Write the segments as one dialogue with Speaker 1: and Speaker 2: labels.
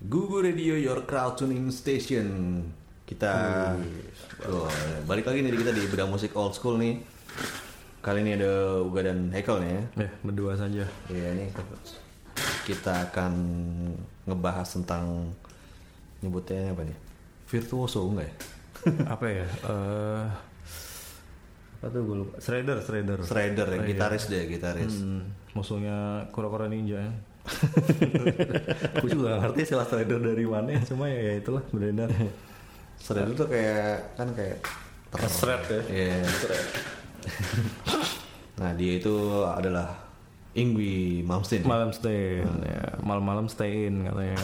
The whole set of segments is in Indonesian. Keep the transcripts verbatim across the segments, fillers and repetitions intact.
Speaker 1: Gugu Radio, your crowd tuning station. Kita oh, balik lagi nih kita di Bedah Musik Old School nih. Kali ini ada Uga dan Hekel nih ya.
Speaker 2: Ya, berdua saja.
Speaker 1: Iya nih. Kita akan ngebahas tentang nyebutnya apa nih? Virtuoso enggak ya?
Speaker 2: Apa ya? Uh, apa tuh gue lupa. Shredder, Shredder.
Speaker 1: Shredder ya,
Speaker 2: oh,
Speaker 1: gitaris
Speaker 2: iya.
Speaker 1: deh, gitaris.
Speaker 2: Hmm, musuhnya Kura-Kura Ninja ya. Gue juga gak ngerti istilah Shredder dari mana, cuma ya, ya itulah beredar.
Speaker 1: Shredder tuh kayak kan kayak
Speaker 2: ter- shred ya.
Speaker 1: Iya. Yeah. Nah dia itu adalah Yngwie Malmsteen.
Speaker 2: Malmsteen, hmm. ya. Malam-malam stay in katanya.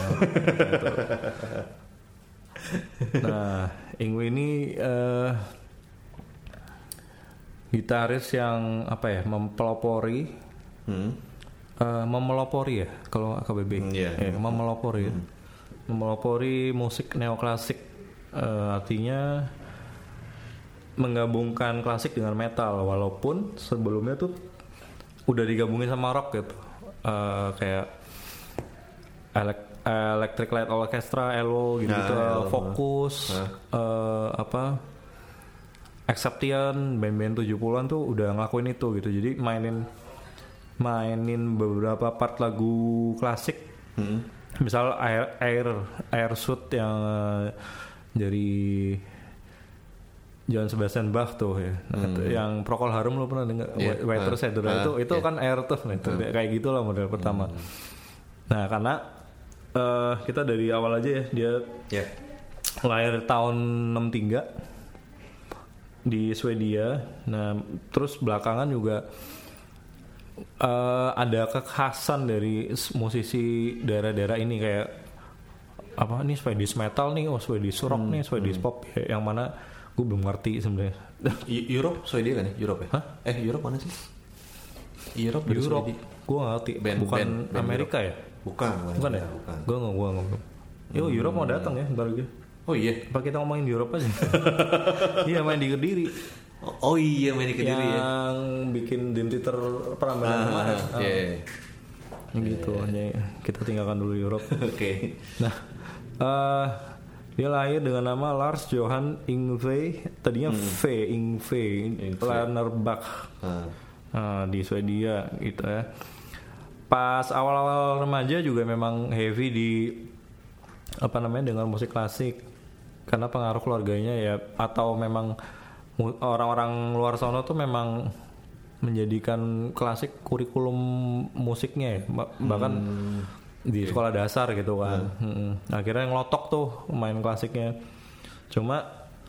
Speaker 2: Nah, Yngwie ini uh, gitaris yang apa ya, mempelopori, hmm. uh, memelopori ya kalau A K B B,
Speaker 1: hmm, yeah.
Speaker 2: ya, memelopori, hmm. memelopori musik neoklasik, uh, artinya menggabungkan klasik dengan metal, walaupun sebelumnya tuh udah digabungin sama rock gitu, uh, kayak elek, Electric Light Orchestra, E L O gitu, gitu nah, Focus, nah. uh, apa, Acception, band-band tujuh puluhan tuh udah ngelakuin itu gitu. Jadi mainin mainin beberapa part lagu klasik, hmm. misal Air Air Air Suit yang uh, dari Johann Sebastian Bach tuh ya, hmm. yang Procol Harum lo pernah dengar, yeah. White Rose uh, itu itu yeah. kan Air tuh, nah, itu uh. kayak gitulah model pertama. Hmm. Nah karena uh, kita dari awal aja ya, dia yeah. lahir tahun enam tiga di Swedia. Nah terus belakangan juga uh, ada kekhasan dari musisi daerah-daerah ini, kayak apa nih, Swedish metal nih, oh Swedish rock hmm. nih, Swedish hmm. pop ya, yang mana gue belum ngerti sebenarnya.
Speaker 1: Europe, Swedia kan ya? Europe ya? Hah? Eh Europe mana sih? Europe,
Speaker 2: Europe. Gue nggak ngerti. Band, bukan band, band Amerika Europe. Ya?
Speaker 1: Bukan.
Speaker 2: Bukan ya?
Speaker 1: Bukan.
Speaker 2: Gue nggak, gue nggak. Yo hmm. Europe mau datang ya, baru gitu.
Speaker 1: Oh iya.
Speaker 2: Apa kita ngomongin Europe aja? Iya, main di Kediri.
Speaker 1: Oh, oh iya, main di Kediri
Speaker 2: yang
Speaker 1: ya.
Speaker 2: Yang bikin Dream Theater Prambanan ah, kemarin.
Speaker 1: Iya. Yeah.
Speaker 2: Ah. Gitu. Yeah. Kita tinggalkan dulu Europe.
Speaker 1: Oke. Okay.
Speaker 2: Nah. Uh, Dia lahir dengan nama Lars Johan Yngwie, tadinya hmm. V, Yngwie, Lannerbach, hmm. nah, di Swedia gitu ya. Pas awal-awal remaja juga memang heavy di apa namanya dengan musik klasik, karena pengaruh keluarganya ya, atau memang orang-orang luar sana tuh memang menjadikan klasik kurikulum musiknya ya, bahkan hmm. di sekolah dasar gitu kan. Hmm. Hmm. Akhirnya ngelotok tuh main klasiknya. Cuma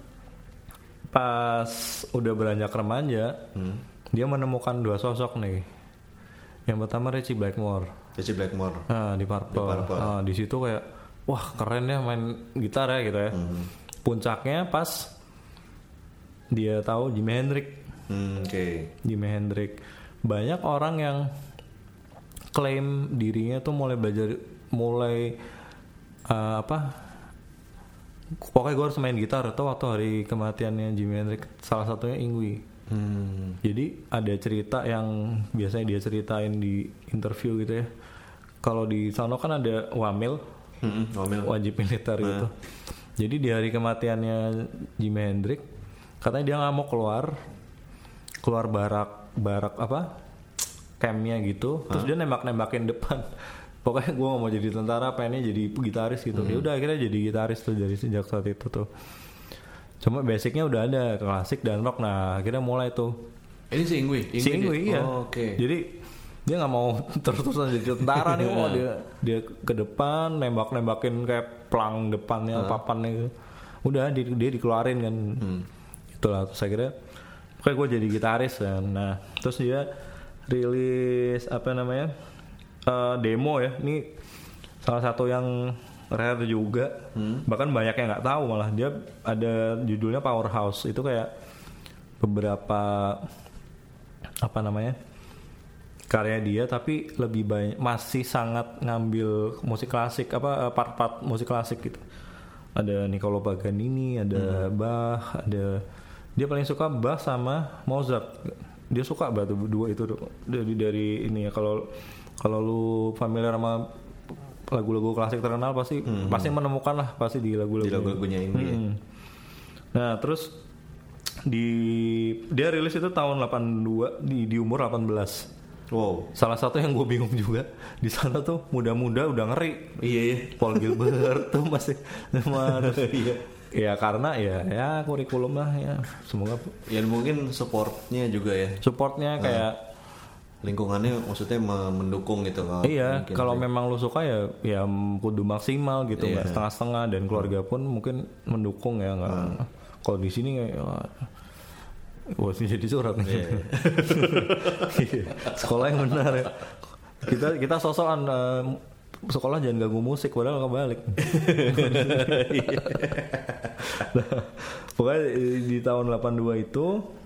Speaker 2: pas udah beranjak remaja, hmm. dia menemukan dua sosok nih. Yang pertama Ritchie Blackmore.
Speaker 1: Ritchie Blackmore.
Speaker 2: Nah, di Purple. Di Purple. Nah, di situ kayak wah keren ya main gitar ya gitu ya. Hmm. Puncaknya pas dia tahu Jimi Hendrix.
Speaker 1: Hmm, Oke. Okay.
Speaker 2: Jimi Hendrix. Banyak orang yang klaim dirinya tuh mulai belajar, mulai uh, apa, pokoknya gue harus main gitar tuh waktu hari kematiannya Jimi Hendrix, salah satunya Yngwie. Hmm. Jadi ada cerita yang biasanya dia ceritain di interview gitu ya. Kalau di sana kan ada wamil, hmm, wamil. wajib militer nah. gitu. Jadi di hari kematiannya Jimi Hendrix, katanya dia nggak mau keluar, keluar barak barak apa? campnya gitu, terus huh? dia nembak-nembakin depan. Pokoknya gue gak mau jadi tentara, pengennya jadi gitaris gitu. Hmm. Ya udah akhirnya jadi gitaris tuh dari sejak saat itu tuh. Cuma basicnya udah ada klasik dan rock. Nah akhirnya mulai tuh.
Speaker 1: Ini si Yngwie?
Speaker 2: Si Yngwie iya.
Speaker 1: Oh, Oke. Okay.
Speaker 2: Jadi dia nggak mau terus-terusan jadi tentara nih, mau dia dia ke depan nembak-nembakin kayak pelang depannya, huh? papannya gitu. Udah dia, dia dikeluarin kan. Hmm. Itulah terus akhirnya kayak gue jadi gitaris kan. Nah terus dia rilis apa namanya uh, demo ya, ini salah satu yang rare juga, hmm. bahkan banyak yang nggak tahu, malah dia ada judulnya Powerhouse. Itu kayak beberapa apa namanya karya dia, tapi lebih banyak masih sangat ngambil musik klasik, apa part-part musik klasik gitu. Ada Niccolo Paganini, ada hmm. Bach, ada dia paling suka Bach sama Mozart. Dia suka banget dua itu dari dari ini ya. Kalau kalau lu familiar sama lagu-lagu klasik terkenal pasti hmm. pasti menemukan lah pasti di lagu-lagu
Speaker 1: di lagu-lagunya ini. Hmm.
Speaker 2: Ya. Nah terus di dia rilis itu tahun delapan puluh dua di di umur delapan belas.
Speaker 1: Wow.
Speaker 2: Salah satu yang gue bingung juga di sana tuh muda-muda udah ngeri.
Speaker 1: Iya iya.
Speaker 2: Paul Gilbert tuh masih terus, iya. Ya karena ya ya kurikulum lah ya semoga.
Speaker 1: Ya mungkin supportnya juga ya.
Speaker 2: Supportnya kayak uh.
Speaker 1: lingkungannya maksudnya mendukung gitu kalau
Speaker 2: iya kalau memang lu suka ya ya kudu maksimal gitu nggak iya. setengah-setengah dan keluarga pun mungkin mendukung ya nggak hmm. kalau di sini kayak wah sih jadi surat nih yeah. Sekolah yang benar ya kita kita sosokan uh, sekolah jangan ganggu musik padahal kebalik. Nah, pokoknya di tahun delapan puluh dua itu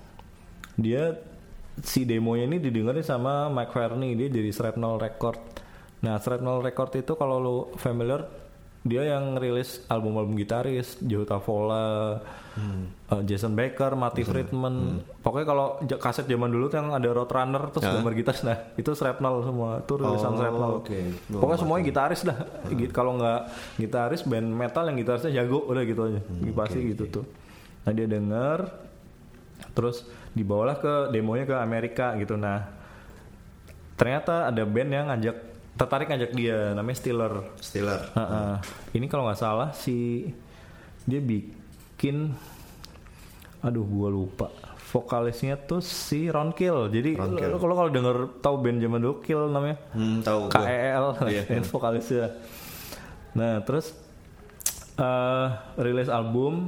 Speaker 2: dia si demonya ini didengerin sama Mike Varney, dia dari Shrapnel Record. Nah Shrapnel Record itu kalau lo familiar dia yang rilis album-album gitaris Joe Tavola, hmm. uh, Jason Baker, Matty hmm. Friedman. Hmm. Pokoknya kalau j- kaset zaman dulu tuh yang ada Roadrunner terus gambar ya? Gitar, nah itu Shrapnel semua, itu rilisan oh, Shrapnel. Okay. Pokoknya semuanya gitaris dah. Hmm. Kalau nggak gitaris band metal yang gitarisnya jago udah gitu aja, hmm, pasti okay, gitu okay. tuh. Nah dia denger, terus dibawalah ke demonya ke Amerika gitu. Nah ternyata ada band yang ngajak tertarik ngajak dia namanya Stiller.
Speaker 1: Stiller.
Speaker 2: Uh-uh. Ini kalau nggak salah si dia bikin, aduh gua lupa. Vokalisnya tuh si Ron Kill. Jadi lo kalau denger tahu band zaman dulu Kill namanya.
Speaker 1: Hmm, tahu.
Speaker 2: K E L yeah. Vokalisnya. Nah terus uh, rilis album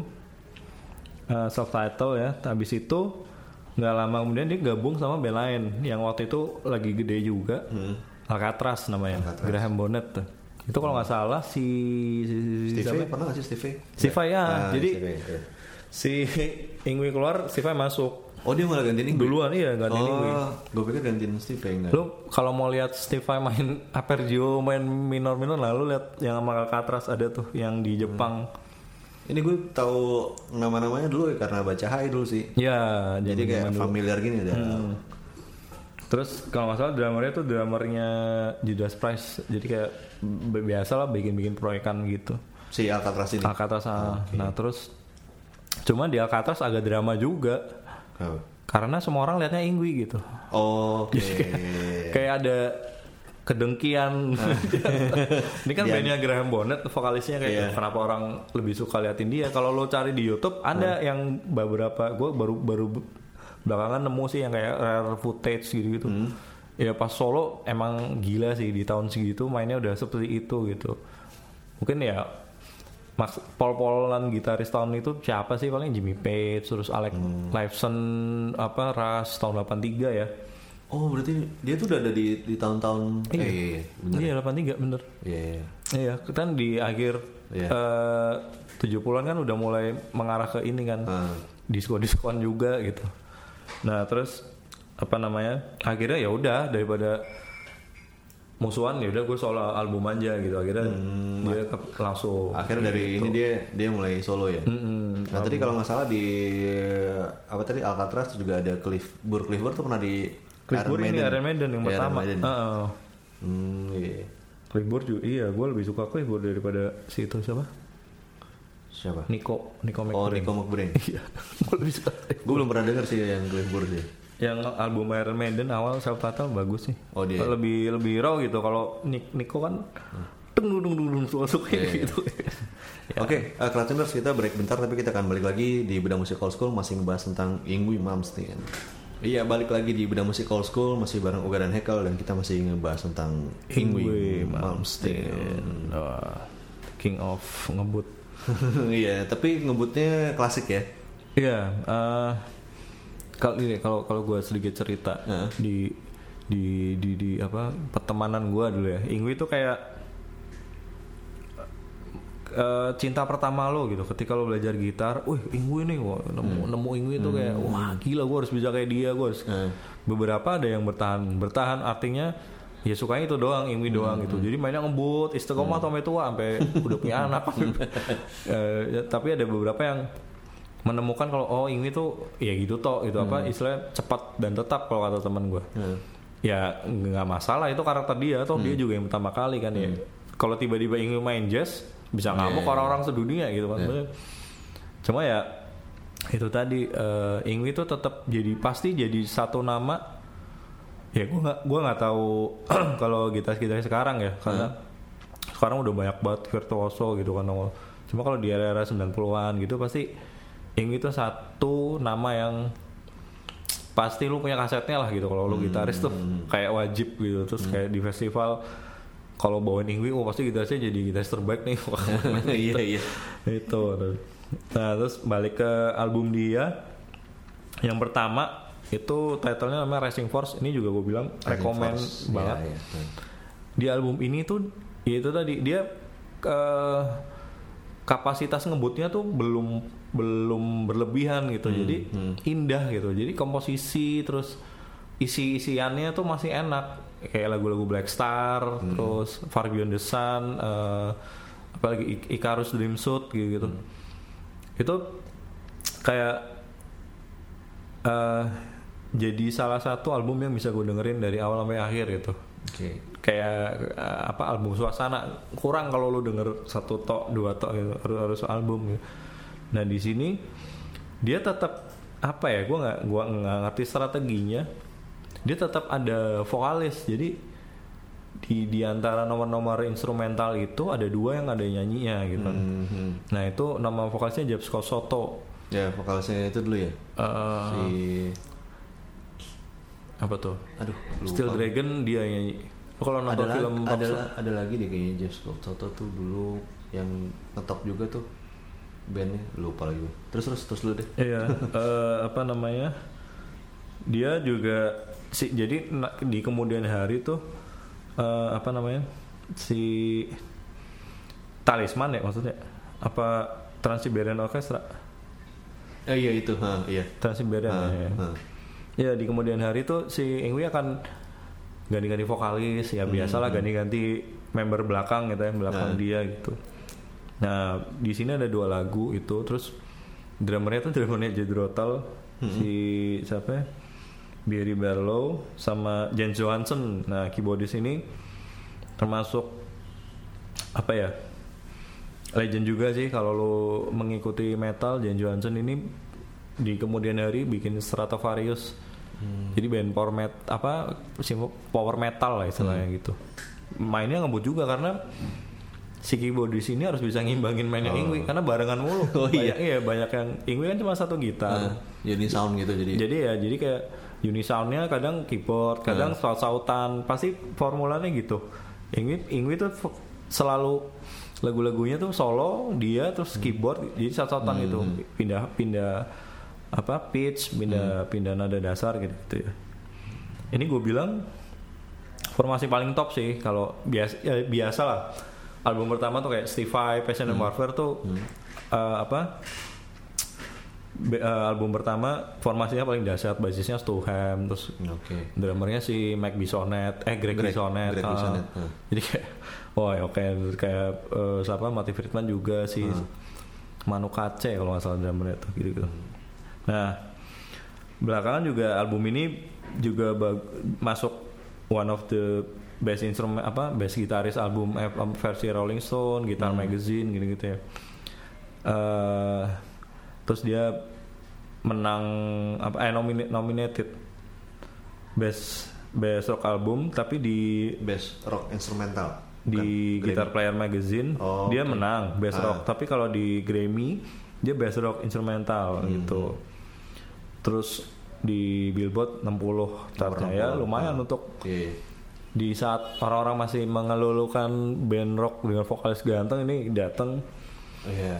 Speaker 2: uh, self-title ya. Habis itu nggak lama kemudian dia gabung sama band lain yang waktu itu lagi gede juga. Hmm. Alcatraz namanya, Alcatraz. Graham Bonnet tuh. Itu kalau nggak salah si, si,
Speaker 1: si Steve pernah nggak sih Steve?
Speaker 2: Steve ya,
Speaker 1: ah,
Speaker 2: jadi
Speaker 1: Steve, ya.
Speaker 2: si Ingwi keluar, Steve masuk.
Speaker 1: Oh dia malah gantiin Ingwi?
Speaker 2: Duluan iya gantiin
Speaker 1: oh,
Speaker 2: Ingwi.
Speaker 1: Gue pikir gantiin Steve enggak.
Speaker 2: Lu kalau mau lihat Steve main Apergio, main minor-minor lah, lu lihat yang sama Alcatraz ada tuh yang di Jepang. Hmm.
Speaker 1: Ini gue tahu nama-namanya dulu ya karena baca Hai dulu sih.
Speaker 2: Ya,
Speaker 1: jadi kayak familiar gini dah. Hmm.
Speaker 2: Terus kalau nggak salah drummernya tuh drummernya Judas Priest, jadi kayak biasa lah bikin-bikin proyekan gitu.
Speaker 1: Si Alcatraz ini.
Speaker 2: Alcatraz, oh, okay. Nah terus, cuma di Alcatraz agak drama juga, oh. Karena semua orang liatnya Ingwi gitu.
Speaker 1: Oh, Oke. Okay.
Speaker 2: kayak, kayak ada kedengkian. Ini kan bandnya Graham Bonnet, vokalisnya kayak yeah. Kenapa orang lebih suka liatin dia? Kalau lo cari di YouTube ada hmm. yang beberapa, gue baru baru belakangan nemu sih yang kayak rare footage gitu-gitu. Hmm. Ya pas solo emang gila sih di tahun segitu mainnya udah seperti itu gitu. Mungkin ya Max Paul-Paulan gitaris tahun itu siapa sih paling Jimmy Page terus Alex hmm. Lifeson apa Ras tahun delapan tiga ya.
Speaker 1: Oh berarti dia tuh udah ada di di tahun-tahun
Speaker 2: iya. Eh, iya, iya, bener. Iya delapan tiga bener.
Speaker 1: Iya. Iya,
Speaker 2: iya kan di akhir yeah. uh, tujuh puluhan kan udah mulai mengarah ke ini kan. Hmm. Disko-diskoan juga gitu. Nah terus apa namanya akhirnya ya udah daripada musuhan ya udah gue solo album aja gitu akhirnya hmm, dia ke, langsung
Speaker 1: akhirnya dari gitu. Ini dia dia mulai solo ya. Mm-hmm. Nah album. Tadi kalau nggak salah di apa tadi Alcatraz juga ada Cliff Burr Cliff Burr tuh pernah di
Speaker 2: Cliff Burr ini Iron Maiden yang ya, pertama. Uh-uh.
Speaker 1: Hmm, iya.
Speaker 2: Cliff Burr juga iya gue lebih suka Cliff Burr daripada si itu siapa?
Speaker 1: Siapa?
Speaker 2: Nico, Nico McBrain.
Speaker 1: Oh, Nico McBrain.
Speaker 2: Iya. Gue lebih suka.
Speaker 1: Gue belum pernah denger sih yang Cliff Burr sih.
Speaker 2: Yang album Iron Maiden awal self title bagus sih.
Speaker 1: Oh dia.
Speaker 2: Lebih lebih raw gitu. Kalau Nico kan dung dung dung dung suka gitu.
Speaker 1: Ya. Oke, okay, uh, Kratuners kita break bentar tapi kita akan balik lagi di Bedah Musik Old School masih ngebahas tentang Yngwie Malmsteen. Iya, balik lagi di Bedah Musik Old School masih bareng Uga dan Hekel dan kita masih ngebahas tentang Yngwie Malmsteen.
Speaker 2: Oh, King of ngebut.
Speaker 1: Iya, tapi ngebutnya klasik ya.
Speaker 2: Iya, uh, kalau ini kalau kalau gue sedikit cerita uh. di di di di apa pertemanan gue dulu ya. Yngwie itu kayak uh, cinta pertama lo gitu. Ketika lo belajar gitar, wih Yngwie nih, wah, nemu hmm. nemu Yngwie itu kayak wah gila gue harus bisa kayak dia, gue harus. Uh. Beberapa ada yang bertahan, bertahan artinya ya sukanya itu doang, Yngwie doang hmm. gitu. Jadi mainnya ngebut, istiqomah hmm. sampai tua, sampai udah punya anak. uh, ya, tapi ada beberapa yang menemukan kalau oh Yngwie tuh ya gitu toh, gitu hmm. apa istilahnya cepat dan tetap kalau kata teman gue. Hmm. Ya nggak masalah itu karakter dia, toh hmm. dia juga yang pertama kali kan hmm. ya. kalau tiba-tiba ingin main jazz bisa ngamuk yeah. orang-orang sedunia gitu kan. Yeah. Cuma ya itu tadi uh, Ingwi itu tetap jadi pasti jadi satu nama. Ya gue nggak gue nggak tahu kalau gitaris-gitaris sekarang ya karena hmm. sekarang udah banyak banget virtuoso gitu kan. Cuma kalau di era-era sembilan puluhan gitu pasti Ingwi itu satu nama yang pasti lu punya kasetnya lah gitu kalau lu gitaris tuh kayak wajib gitu. Terus hmm. kayak di festival kalau bawain Ingwi, oh pasti gitarisnya jadi gitaris terbaik nih.
Speaker 1: Iya iya.
Speaker 2: Itu. Nah terus balik ke album dia yang pertama itu titlenya namanya Rising Force. Ini juga gue bilang rekomen banget. Ya, ya. Di album ini tuh ya itu tadi dia uh, kapasitas ngebutnya tuh belum belum berlebihan gitu, hmm, jadi hmm. indah gitu, jadi komposisi terus isi-isiannya tuh masih enak kayak lagu-lagu Black Star, hmm. terus Far Beyond the Sun, uh, apalagi Icarus Dream Suit gitu, gitu. Hmm. Itu kayak uh, jadi salah satu album yang bisa gue dengerin dari awal sampai akhir gitu. Okay. Kayak uh, apa album suasana kurang kalau lu denger satu tok dua tok gitu, harus harus album gitu. Nah di sini dia tetap apa ya, gue nggak gue nggak ngerti strateginya, dia tetap ada vokalis, jadi di di antara nomor-nomor instrumental itu ada dua yang ada nyanyinya gitu. Mm-hmm. Nah itu nama vokalisnya James Scott Soto.
Speaker 1: Ya vokalisnya itu dulu ya. Uh, si
Speaker 2: apa tuh?
Speaker 1: Aduh. Lupa.
Speaker 2: Steel Dragon dia nyanyi. Kalau nonton
Speaker 1: ada
Speaker 2: film
Speaker 1: la- ada la- ada lagi deh kayaknya James Scott Soto tuh dulu yang ngetop juga tuh. Bandnya lupa lagi. Terus terus terus lu deh.
Speaker 2: Iya, uh, apa namanya? Dia juga si jadi di kemudian hari tuh uh, apa namanya? Si Talisman ya maksudnya? Apa Trans-Siberian Orchestra?
Speaker 1: Eh iya itu, ha, iya.
Speaker 2: Trans-Siberian
Speaker 1: ha,
Speaker 2: ya.
Speaker 1: Ha.
Speaker 2: Ya di kemudian hari tuh si Ingwi akan ganti-ganti vokalis ya, biasalah hmm, ganti-ganti member belakang gitu ya, belakang ha. dia gitu. Nah di sini ada dua lagu itu, terus drummernya tuh drummernya Jethro mm-hmm. si siapa ya? Barry Barlow sama Jens Johansson. Nah keyboardis ini termasuk apa ya, legend juga sih kalau lo mengikuti metal. Jens Johansson ini di kemudian hari bikin Stratovarius, hmm. jadi band power metal apa power metal lah istilahnya hmm. gitu. Mainnya ngebut juga karena si keyboardis ini harus bisa ngimbangin mainnya oh. Ingwi karena barengan mulu.
Speaker 1: Oh iya.
Speaker 2: Banyak, iya banyak yang Ingwi kan cuma satu gitar.
Speaker 1: Uh, unisound gitu jadi.
Speaker 2: Jadi ya jadi kayak unisoundnya kadang keyboard, kadang uh. saut-sautan, pasti formulanya gitu. Ingwi Ingwi tuh selalu lagu-lagunya tuh solo dia terus keyboard hmm. jadi saut-sautan hmm. gitu. Pindah-pindah apa pitch, pindah hmm. pindah nada dasar gitu, gitu ya. Ini gue bilang formasi paling top sih kalau biasa ya, biasa lah. Album pertama tuh kayak Steve Vai, Passion and hmm. Warfare tuh hmm. uh, apa Be, uh, album pertama formasinya paling dahsyat, basisnya Stu Hamm, terus okay. drummernya si Mike Bissonette, eh Greg, Greg Bissonette, Greg uh, Bissonette. Uh. Jadi kayak wah oh, oke okay. kayak uh, siapa Matty Friedman juga si uh. Manu Katché kalau nggak salah drummernya tuh gitu-gitu. Hmm. Nah belakangan juga album ini juga bag- masuk one of the best instrument apa best gitaris album eh, versi Rolling Stone, Guitar hmm. Magazine gitu-gitu ya. Uh, terus dia menang apa eh nomin- nominated best best rock album tapi di
Speaker 1: best rock instrumental
Speaker 2: di Guitar Player Magazine oh, dia okay. menang best ah. rock, tapi kalau di Grammy dia best rock instrumental hmm. gitu. Terus di Billboard enam puluh chartnya ya lumayan ah. untuk yeah. di saat orang-orang masih mengelulukan band rock dengan vokalis ganteng, ini datang
Speaker 1: oh, yeah.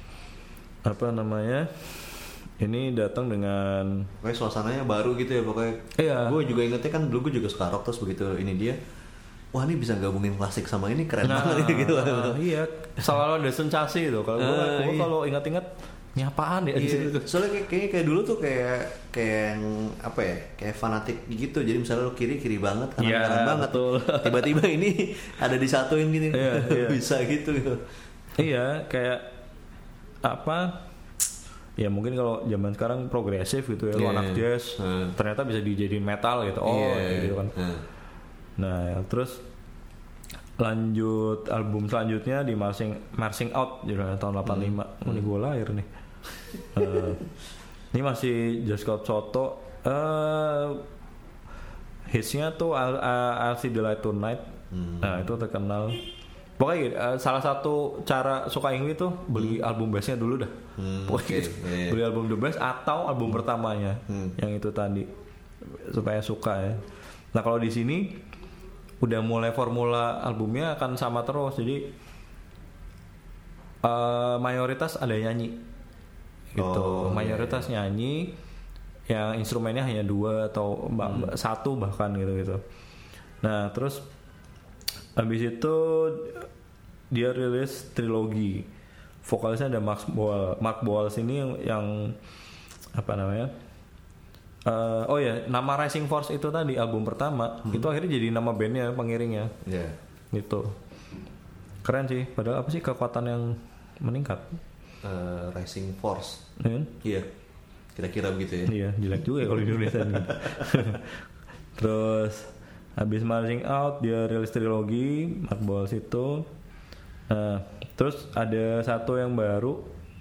Speaker 2: apa namanya ini datang dengan
Speaker 1: kayak suasananya baru gitu ya pokoknya.
Speaker 2: Iya.
Speaker 1: Gue juga ingetnya kan dulu gue juga suka rock, terus begitu ini dia, wah ini bisa gabungin klasik sama ini keren nah, banget gitu.
Speaker 2: Uh, iya, selalu ada sensasi itu. Kalau gue uh, iya. kalau ingat-ingat ini apaan ya?
Speaker 1: Iya. Soalnya kayak, kayak kayak dulu tuh kayak kayak yang apa ya, kayak fanatik gitu. Jadi misalnya lo kiri kiri banget, kanan
Speaker 2: ya,
Speaker 1: kanan banget.
Speaker 2: Betul.
Speaker 1: Tiba-tiba ini ada disatuin gini,
Speaker 2: iya, iya.
Speaker 1: bisa gitu. gitu.
Speaker 2: Iya, kayak apa? Ya mungkin kalau zaman sekarang progresif gitu ya, yeah. lo anak jazz, hmm. ternyata bisa dijadiin metal gitu. Oh, yeah. gitu kan. Hmm. Nah, ya, terus lanjut album selanjutnya di Marching Marching Out juga tahun delapan puluh lima. Hmm. Oh, ini gue lahir nih. uh, ini masih Just Cop Soto. Uh, hitsnya tuh I'll, I'll See the Light Tonight. Hmm. Nah itu terkenal. Pokoknya uh, salah satu cara suka Ingwi tuh beli hmm. album bassnya dulu dah. Hmm, Pokoknya okay, yeah. beli album The Bass atau album hmm. pertamanya hmm. yang itu tadi supaya suka ya. Nah kalau di sini udah mulai formula albumnya akan sama terus, jadi uh, mayoritas ada nyanyi gitu, oh, mayoritas yeah. nyanyi yang instrumennya hanya dua atau hmm. satu bahkan gitu gitu. Nah terus habis itu dia rilis trilogi, vokalisnya ada Mark Boal. Mark Boal sini yang, yang apa namanya? Uh, oh ya, nama Rising Force itu tadi album pertama hmm. itu akhirnya jadi nama bandnya, pengiringnya. Iya. Yeah. Gitu. Keren sih. Padahal apa sih kekuatan yang meningkat?
Speaker 1: Uh, Rising Force. Iya. Hmm? Yeah. Kira-kira begitu ya.
Speaker 2: Iya, jelek juga ya kalau di Indonesia gitu. Terus habis Marching Out dia rilis trilogi Mark Boal itu. Nah, terus ada satu yang baru,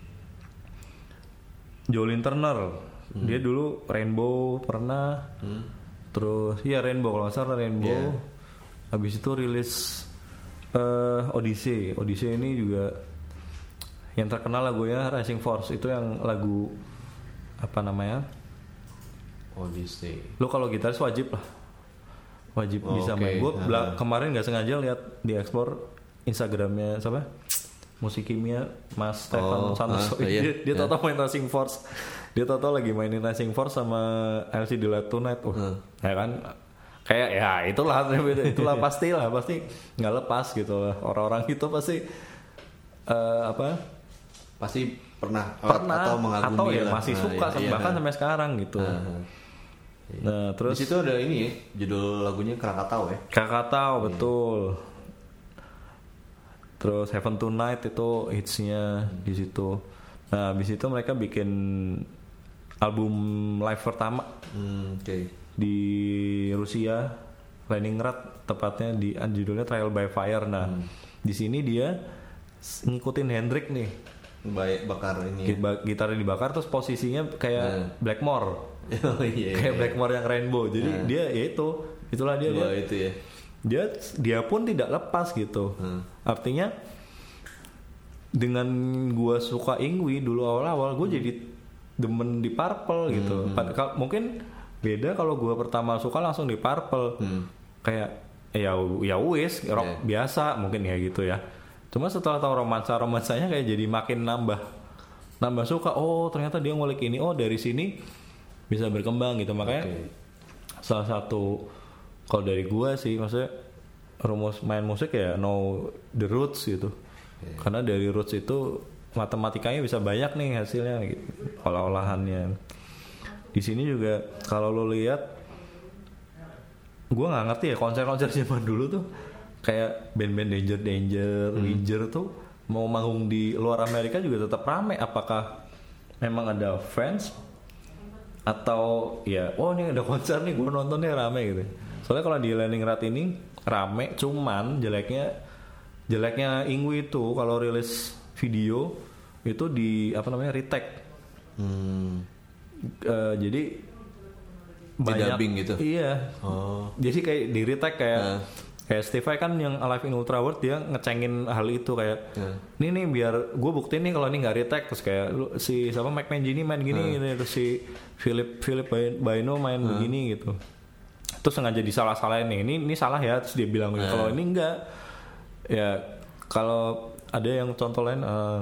Speaker 2: Jolin Turner. Hmm. Dia dulu Rainbow pernah, hmm. terus ya Rainbow kalau nggak salah Rainbow. Yeah. Habis itu rilis uh, Odyssey. Odyssey ini juga yang terkenal lagunya Rising Force, itu yang lagu apa namanya?
Speaker 1: Odyssey.
Speaker 2: Lo kalau gitaris wajib lah, wajib oh, bisa okay. main. Gue uh-huh. kemarin nggak sengaja lihat di explore Instagramnya siapa? Musik Kimia Mas Stefan oh, Santos. Uh, iya. Dia, dia yeah. tau-tau main Rising Force. Dia tau-tau lagi mainin Rising Force sama I'll See the Light Tonight. Oh, uh. ya kan? Kayak ya itulah itulah pasti lah, pasti nggak lepas gitu lah. Orang-orang itu pasti uh, apa?
Speaker 1: Pasti pernah,
Speaker 2: pernah
Speaker 1: atau mengagumi
Speaker 2: atau ya
Speaker 1: lah.
Speaker 2: masih
Speaker 1: nah,
Speaker 2: suka
Speaker 1: iya,
Speaker 2: bahkan
Speaker 1: iya.
Speaker 2: sampai sekarang gitu. Uh-huh. Nah, terus
Speaker 1: di situ ada ini ya, judul lagunya Krakatau ya.
Speaker 2: Krakatau hmm. betul. Terus Heaven Tonight itu hitsnya hmm. di situ. Nah, habis itu mereka bikin album live pertama
Speaker 1: hmm, okay.
Speaker 2: di Rusia, Leningrad tepatnya, di judulnya Trial by Fire. Nah, hmm. di sini dia ngikutin Hendrix nih.
Speaker 1: Baik bakar ini. Ya.
Speaker 2: Gitarnya dibakar terus posisinya kayak nah. Blackmore.
Speaker 1: Oh, iya,
Speaker 2: kayak
Speaker 1: iya.
Speaker 2: Blackmore yang Rainbow. Jadi nah. dia ya itu, itulah dia.
Speaker 1: Dua
Speaker 2: dia.
Speaker 1: itu ya.
Speaker 2: Dia dia pun tidak lepas gitu. Hmm. Artinya dengan gua suka Ingwi dulu awal-awal, gua hmm. jadi demen di Purple gitu. Hmm. Mungkin beda kalau gua pertama suka langsung di Purple. Hmm. Kayak ya ya wis rock yeah. biasa mungkin ya gitu ya. Cuma setelah tahu romansa-romansanya kayak jadi makin nambah nambah suka. Oh, ternyata dia ngulik ini. Oh, dari sini bisa berkembang gitu. Makanya okay. salah satu kalau dari gua sih maksudnya rumus main musik ya know the roots gitu. Yeah. Karena dari roots itu matematikanya bisa banyak nih hasilnya gitu, olah-olahannya. Di sini juga kalau lo lihat, gue nggak ngerti ya konser-konser zaman dulu tuh kayak band-band Danger Danger, hmm. Winger tuh mau manggung di luar Amerika juga tetap rame. Apakah memang ada fans atau ya, oh ini ada konser nih gue nontonnya rame gitu. Soalnya kalau di Leningrad ini rame, cuman jeleknya jeleknya Ingwi itu kalau rilis video itu di apa namanya retake. Hmm. Uh, jadi banyak
Speaker 1: dubbing gitu.
Speaker 2: Iya. Oh. Jadi kayak di retake kayak uh. kayak Steve Vai kan yang Alive in Ultra World dia ngecengin hal itu kayak uh. nih nih biar gue buktiin nih kalau ini nggak retake, terus kayak lu, si sama Mike Mangini main gini, uh. gitu, terus si Philip Philip Baino main uh. begini gitu. Terus sengaja disalah-salahin nih. Ini ini salah ya, terus dia bilang uh. kalau ini enggak. Ya kalau ada yang contoh lain uh,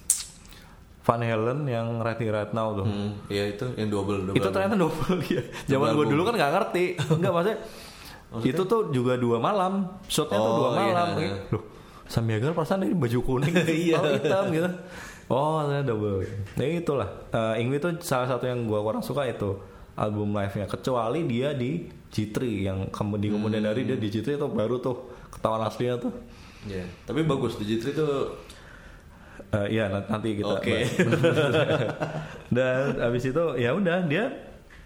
Speaker 2: Van Halen yang Right Here Right Now tuh.
Speaker 1: Hmm, ya itu yang double, double.
Speaker 2: Itu ternyata double ya. Zaman gue dulu kan nggak ngerti. Enggak maksudnya, maksudnya itu tuh juga dua malam. Shotnya oh, tuh dua malam. Iya. Loh, Samyagar perasaan ini baju kuning, kalau hitam gitu. Oh, ternyata double. Nah itulah. Uh, Ingwi tuh salah satu yang gue kurang suka itu album live-nya. Kecuali dia di G tiga yang kemudian kemudian hmm. dari dia di G tiga itu baru tuh ketahuan aslinya tuh. Ya, yeah. Tapi bagus di G tiga itu. Uh, iya nanti kita. Oke. Okay. Dan abis itu ya udah dia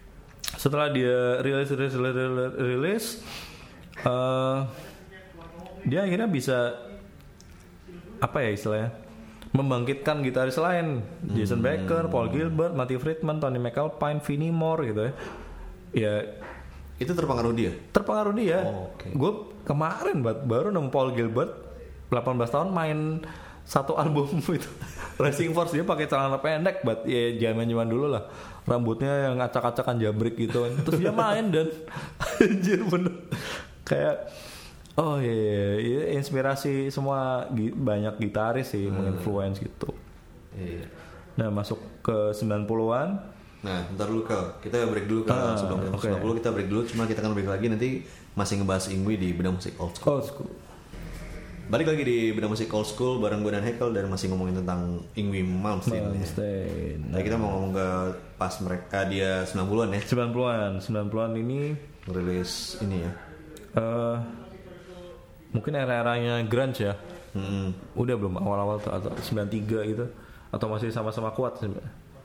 Speaker 2: setelah dia rilis rilis rilis, rilis uh, dia akhirnya bisa apa ya istilahnya membangkitkan gitaris lain, hmm. Jason Becker, Paul Gilbert, Matty Friedman, Tony McAlpine, Vinnie Moore gitu ya. Ya
Speaker 1: itu terpengaruh dia.
Speaker 2: Terpengaruh dia.
Speaker 1: Oh, okay.
Speaker 2: Gue kemarin baru nemu Paul Gilbert delapan belas tahun main satu album itu Racing Force, dia pakai celana pendek, buat ya zaman-zaman dulu lah, rambutnya yang acak-acakan jambrik gitu kan. Terus dia main dan anjir bener kayak oh iya, iya, iya inspirasi semua banyak gitaris sih, hmm. menginfluence gitu.
Speaker 1: Iya.
Speaker 2: Nah masuk ke sembilan puluhan.
Speaker 1: Nah ntar dulu Kal, kita break dulu Kal.
Speaker 2: Ah,
Speaker 1: sebelum
Speaker 2: okay.
Speaker 1: sembilan puluh kita break dulu, cuma kita akan break lagi nanti masih ngebahas Ingwi di Bedah Musik Old School.
Speaker 2: Old School.
Speaker 1: Balik lagi di Bedah Musik Old School bareng gue dan Hekel dan masih ngomongin tentang Yngwie Malmsteen.
Speaker 2: Malmsteen.
Speaker 1: Nah, kita mau ngomong ke pas mereka dia sembilan puluhan ya.
Speaker 2: sembilan puluhan, sembilan puluhan ini
Speaker 1: rilis ini ya.
Speaker 2: Uh, mungkin era-eranya grunge ya.
Speaker 1: Mm-hmm.
Speaker 2: Udah belum awal-awal tuh atau sembilan puluh tiga gitu atau masih sama-sama kuat sih.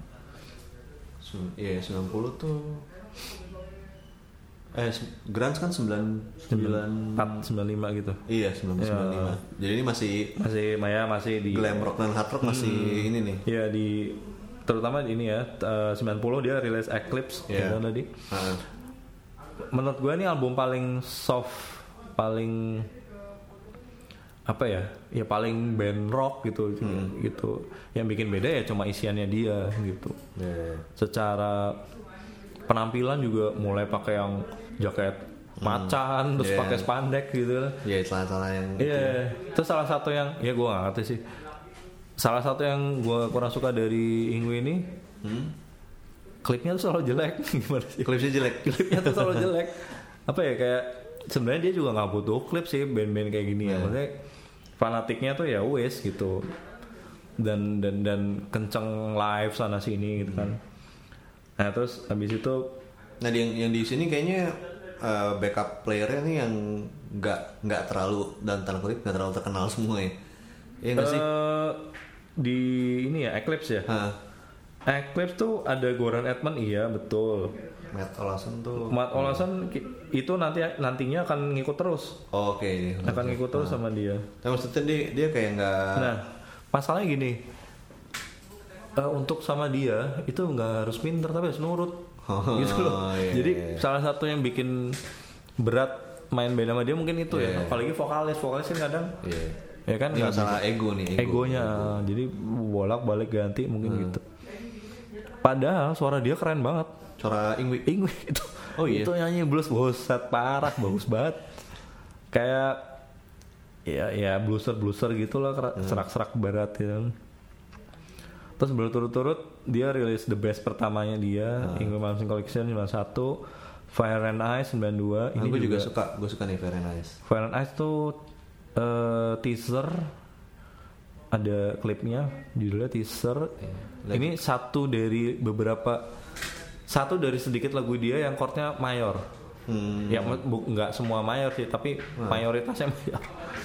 Speaker 1: Iya, sembilan puluh tuh Eh, grunge kan sembilan
Speaker 2: empat sembilan lima gitu.
Speaker 1: Iya, sembilan puluh sembilan lima. Jadi ini masih
Speaker 2: masih Maya masih di
Speaker 1: glam rock dan hard rock masih hmm, ini nih.
Speaker 2: Iya, di terutama ini ya uh, sembilan puluh dia rilis Eclipse yeah. Gitu tadi. Uh. Menurut gue ini album paling soft, paling apa ya? Ya paling band rock gitu hmm. gitu. Yang bikin beda ya cuma isiannya dia gitu.
Speaker 1: Yeah.
Speaker 2: Secara penampilan juga mulai pakai yang jaket macan, hmm, terus yeah. pakai spandek gitu.
Speaker 1: Iya, yeah, celana-celana yang
Speaker 2: Iya, yeah. Terus salah satu yang ya gue gak ngerti sih. Salah satu yang gue kurang suka dari Yngwie ini, hmm? klipnya tuh selalu jelek. Gimana sih?
Speaker 1: Klipnya jelek.
Speaker 2: Klipnya tuh selalu jelek. Apa ya, kayak sebenarnya dia juga nggak butuh klip sih band-band kayak gini yeah. ya. Maksudnya fanatiknya tuh ya wes gitu. Dan dan dan kenceng live sana sini gitu kan. Nah terus habis itu,
Speaker 1: nah yang yang di sini kayaknya uh, backup playernya nih yang nggak nggak terlalu dan tanda kutip nggak terlalu terkenal semua ya, iya nggak uh, sih?
Speaker 2: Di ini ya Eclipse ya. Huh? Eclipse tuh ada Goran Edman, iya betul.
Speaker 1: Matt Olason tuh.
Speaker 2: Matt Olason hmm. itu nanti nantinya akan ngikut terus.
Speaker 1: Oh, Oke. Okay.
Speaker 2: Akan ngikut terus nah. sama dia.
Speaker 1: Tapi maksudnya dia dia kayak nggak.
Speaker 2: Nah masalahnya gini. Uh, untuk sama dia itu nggak harus pinter tapi harus nurut oh, gitu loh. Yeah, Jadi yeah. salah satu yang bikin berat main band sama dia mungkin itu yeah. ya. Apalagi vokalis, vokalis kan kadang yeah. ya kan
Speaker 1: nggak salah ego nih.
Speaker 2: Ego. Egonya, ego. Jadi bolak-balik ganti mungkin hmm. gitu. Padahal suara dia keren banget.
Speaker 1: Suara Yngwie,
Speaker 2: Yngwie itu. Oh iya. Itu nyanyi blues buset parah, bagus banget. Kayak ya ya blueser blueser gitulah, hmm. serak-serak barat ya. Terus berturut-turut dia rilis The Best pertamanya dia, Yngwie Malmsteen Collection sembilan puluh satu, Fire and Ice sembilan puluh dua.
Speaker 1: Nah, ini gue juga, juga suka, gue suka nih Fire and Ice.
Speaker 2: Fire and Ice tuh uh, teaser, ada klipnya, judulnya teaser. Yeah. Ini satu dari beberapa, satu dari sedikit lagu dia yang chordnya mayor. Hmm. Ya nggak semua mayor sih, tapi hmm. mayoritasnya mayor.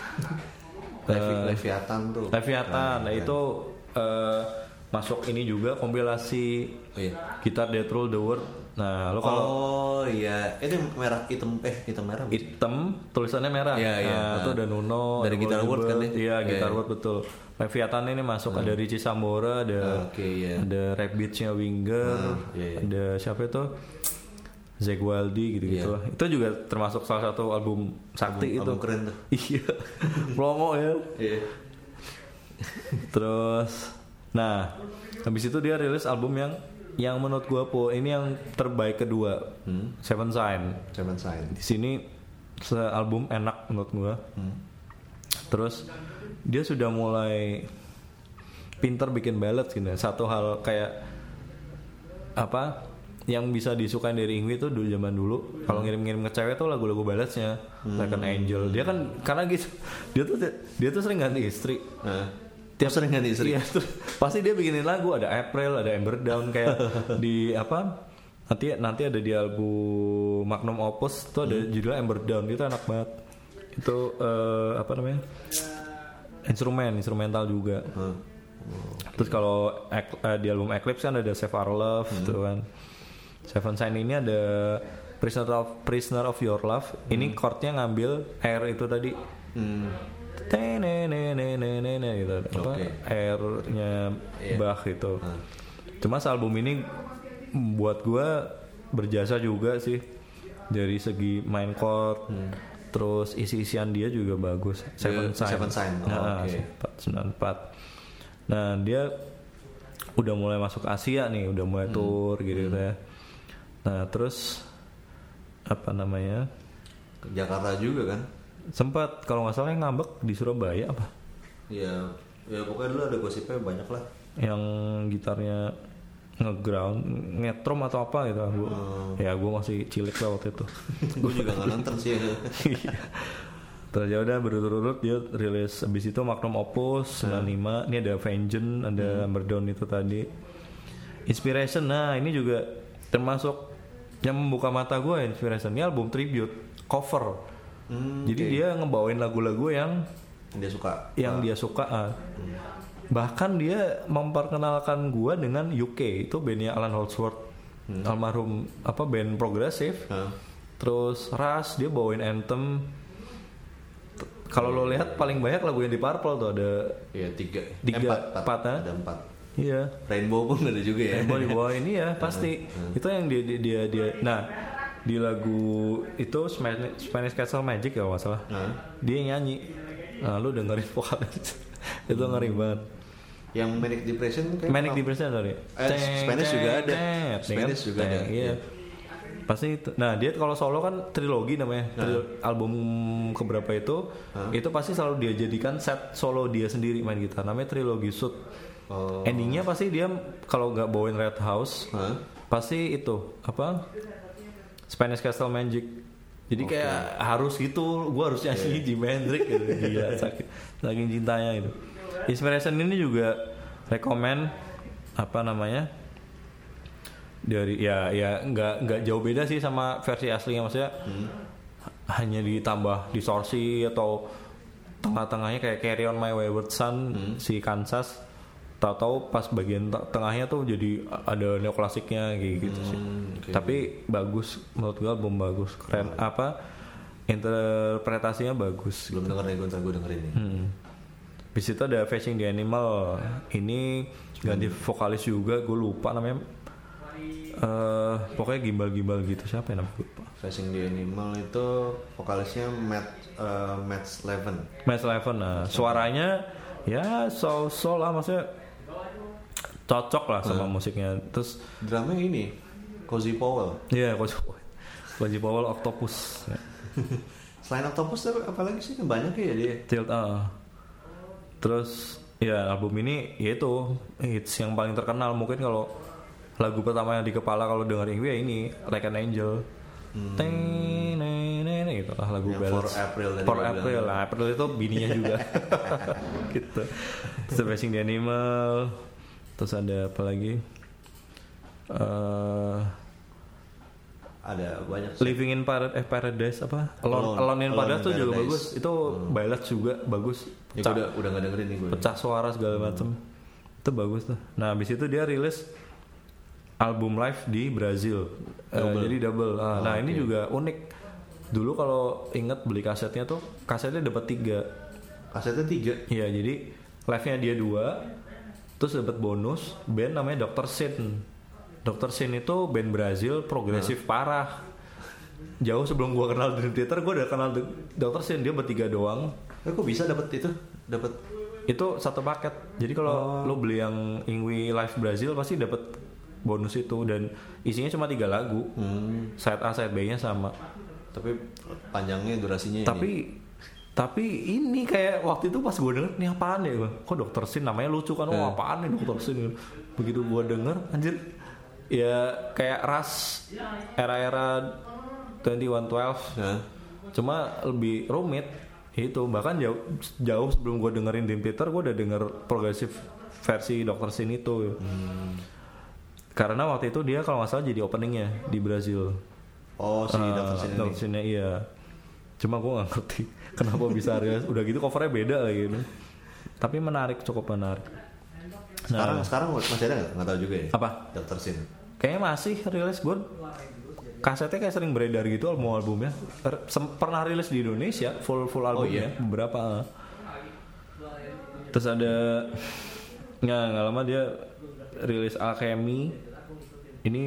Speaker 1: Levi, uh, Leviathan tuh.
Speaker 2: Leviathan, nah, nah itu. Uh, masuk ini juga kompilasi oh, iya. Gitar That Rule the World. Nah, lo kalau
Speaker 1: oh iya, itu merah hitam eh hitam merah.
Speaker 2: Hitam, tulisannya merah.
Speaker 1: Iya, iya.
Speaker 2: Nah, itu ada Nuno
Speaker 1: dari Gitar World kan ya?
Speaker 2: Iya, Gitar yeah. World betul. Leviathan ini masuk hmm. ada Richie Sambora, ada
Speaker 1: okay, yeah.
Speaker 2: ada Rabbits-nya Winger, hmm, yeah, yeah. ada siapa itu? Zack Wilde gitu-gitu yeah. lah. Itu juga termasuk salah satu album sakti
Speaker 1: album,
Speaker 2: itu.
Speaker 1: Album keren tuh.
Speaker 2: Iya. Plongo ya.
Speaker 1: Iya.
Speaker 2: Terus nah, habis itu dia rilis album yang yang menurut gua po ini yang terbaik kedua, hmm? Seven Sign.
Speaker 1: Seven Sign.
Speaker 2: Di sini album enak menurut gua. Hmm. Terus dia sudah mulai pinter bikin ballads gitu. Satu hal kayak apa yang bisa disukain dari Yngwie itu dulu zaman dulu. Hmm. Kalau ngirim-ngirim ke cewek tuh lagu-lagu balladsnya, hmm. Like an Angel. Dia kan karena gitu, dia tuh dia tuh sering ganti istri. Hmm.
Speaker 1: Tiap sering ganti istri.
Speaker 2: Iya, tuh, pasti dia bikinin lagu, ada April, ada Ember Down kayak di apa? Nanti nanti ada di album Magnum Opus tuh ada hmm. judulnya Ember Down, itu enak banget. Itu uh, apa namanya? Instrumen, instrumental juga. Hmm. Okay. Terus kalau uh, di album Eclipse kan ada Save Our Love hmm. tuh kan. Seven Sign ini ada Prisoner of Prisoner of Your Love. Hmm. Ini chordnya ngambil Air itu tadi. Hmm. Tenenenenenene gitu. Apa okay. airnya yeah. Bach gitu. Hmm. Cuma album ini buat gue berjasa juga sih dari segi main chord, hmm. terus isi-isian dia juga bagus. Seven Sign. Seven Sign. Oh, nah, okay. sembilan empat. Nah dia udah mulai masuk Asia nih, udah mulai hmm. tour gitu hmm. ya. Nah terus apa namanya?
Speaker 1: Jakarta juga kan?
Speaker 2: Sempat kalau nggak salah yang ngambek di Surabaya apa?
Speaker 1: Iya, ya pokoknya dulu ada gosipnya banyak lah.
Speaker 2: Yang gitarnya ngeground, ngetrom atau apa gitu. Gua, hmm. Ya gue masih cilik lah waktu itu.
Speaker 1: Gue juga nggak nonton sih.
Speaker 2: Terus ya udah berurut-urut dia rilis abis itu Magnum Opus sembilan puluh lima. Ini ada Vengeance, ada hmm. Hammerdown itu tadi. Inspiration, nah ini juga termasuk yang membuka mata gue. Inspiration ini album tribute, cover. Hmm, Jadi okay. dia ngebawain lagu-lagu yang
Speaker 1: dia suka,
Speaker 2: yang
Speaker 1: ah.
Speaker 2: dia suka. Ah. Hmm. Bahkan dia memperkenalkan gue dengan U K, itu bandnya Alan Holdsworth, hmm. almarhum apa band progresif. Hmm. Terus Rush dia bawain Anthem. Kalau lo lihat paling banyak lagu yang di Purple tuh ada
Speaker 1: ya tiga,
Speaker 2: tiga
Speaker 1: empat, empat,
Speaker 2: empat,
Speaker 1: ada empat.
Speaker 2: Iya.
Speaker 1: Rainbow pun ada juga ya.
Speaker 2: Rainbow dibawain ini ya pasti. Hmm. Itu yang dia, dia dia dia. Nah di lagu itu Spanish, Spanish Castle Magic ya nggak salah. Hmm. Dia yang nyanyi. Nah lu dengerin vokal itu hmm. ngeri banget.
Speaker 1: Yang Manic Depression kayak
Speaker 2: Manic Depression sorry.
Speaker 1: Eh, Spanish juga ada. Spanish juga ada.
Speaker 2: Iya. Pasti itu. Nah dia kalau solo kan trilogi namanya. Nah. Tri- album keberapa itu? Huh? Itu pasti selalu dia jadikan set solo dia sendiri main gitar. Namanya trilogi shoot. Oh. Endingnya pasti dia kalau nggak bawain Red House, huh? pasti itu apa? Spanish Castle Magic. Jadi okay. kayak harus gitu. Gue harus nyanyi yeah. Jimi Hendrix gitu. Dia sakit, saking cintanya itu. Inspiration ini juga rekomend apa namanya? Dari ya ya nggak nggak jauh beda sih sama versi aslinya, maksudnya hmm. hanya ditambah distorsi atau tengah-tengahnya kayak Carry On My Wayward Son hmm. si Kansas, tahu-tahu pas bagian t- tengahnya tuh jadi ada neoklasiknya gitu hmm, sih okay. Tapi bagus menurut gue, album bagus, keren, hmm. apa interpretasinya bagus.
Speaker 1: Belum denger nih, gue ntar gue dengerin nih.
Speaker 2: Hmm. Di situ ada Facing the Animal, ini ganti hmm. vokalis juga, gue lupa namanya. Uh, pokoknya gimbal-gimbal gitu, siapa yang namanya lupa.
Speaker 1: Facing the Animal itu vokalisnya Matt uh, Matt Sleven.
Speaker 2: Matt Sleven, nah suaranya ya soul soul lah, maksudnya cocok lah sama hmm. musiknya. Terus
Speaker 1: drumnya ini Cozy Powell.
Speaker 2: Iya, yeah, Cozy Powell. Cozy Powell Octopus.
Speaker 1: Selain Octopus apa lagi sih, banyak ya dia.
Speaker 2: Tilt ah. Terus ya album ini yaitu hits yang paling terkenal mungkin. Kalau lagu pertama yang di kepala kalau dengerin gue ya ini Like an Angel. Hmm. Teng neng gitu lah lagu ballads.
Speaker 1: For April.
Speaker 2: For April lah. April itu bininya juga. Gitu. Terus Facing the Animal. Terus ada apa lagi? Uh,
Speaker 1: ada banyak.
Speaker 2: Living in Parad- eh, Paradise apa? Alone, Alone, Alone in Paradise tuh juga bagus. Itu hmm. ballads juga bagus.
Speaker 1: Ya, udah udah nggak dengerin nih gue.
Speaker 2: Pecah suara segala hmm. macam. Itu bagus tuh. Nah habis itu dia rilis album live di Brazil, double. Uh, jadi double. Uh, oh, nah okay. Ini juga unik. Dulu kalau inget beli kasetnya tuh, kasetnya dapat tiga.
Speaker 1: Kasetnya tiga?
Speaker 2: Iya, jadi live-nya dia dua, terus dapat bonus band namanya dokter Sin. dokter Sin itu band Brazil progresif huh? parah. Jauh sebelum gua kenal Dream Theater, gua udah kenal dokter Sin. Dia bertiga doang.
Speaker 1: Eh, kok bisa dapat itu? Dapat
Speaker 2: itu satu paket. Jadi kalau oh. lo beli yang Ingui Live Brazil pasti dapat bonus itu, dan isinya cuma tiga lagu. hmm. Side A, side B-nya sama.
Speaker 1: Tapi panjangnya durasinya
Speaker 2: tapi ini. Tapi ini kayak waktu itu pas gue denger, nih apaan ya? Kok dokter Sin namanya lucu kan? Oh apaan nih dokter Sin? Begitu gue denger, anjir, ya kayak Rush era-era dua puluh satu dua belas. Huh? Cuma lebih rumit. Itu bahkan jauh jauh sebelum gue dengerin Dream Theater, gue udah denger progresif versi dokter Sin itu. Hmm. Karena waktu itu dia kalau nggak salah jadi openingnya di Brazil.
Speaker 1: Oh si uh, dokter Sin ini.
Speaker 2: Dokter Sinnya iya. Cuma gue nggak ngerti kenapa bisa rilis. Udah gitu covernya beda lagi gitu. Tapi menarik, cukup menarik.
Speaker 1: Sekarang nah, sekarang masih ada nggak? Nggak tahu juga ya.
Speaker 2: Apa?
Speaker 1: dokter Sin.
Speaker 2: Kayaknya masih rilis gue. kasetnya kayak sering beredar gitu album-albumnya. Er, sem- pernah rilis di Indonesia full full albumnya, oh, iya? beberapa. Terus ada nggak nggak lama dia rilis Alchemy. Ini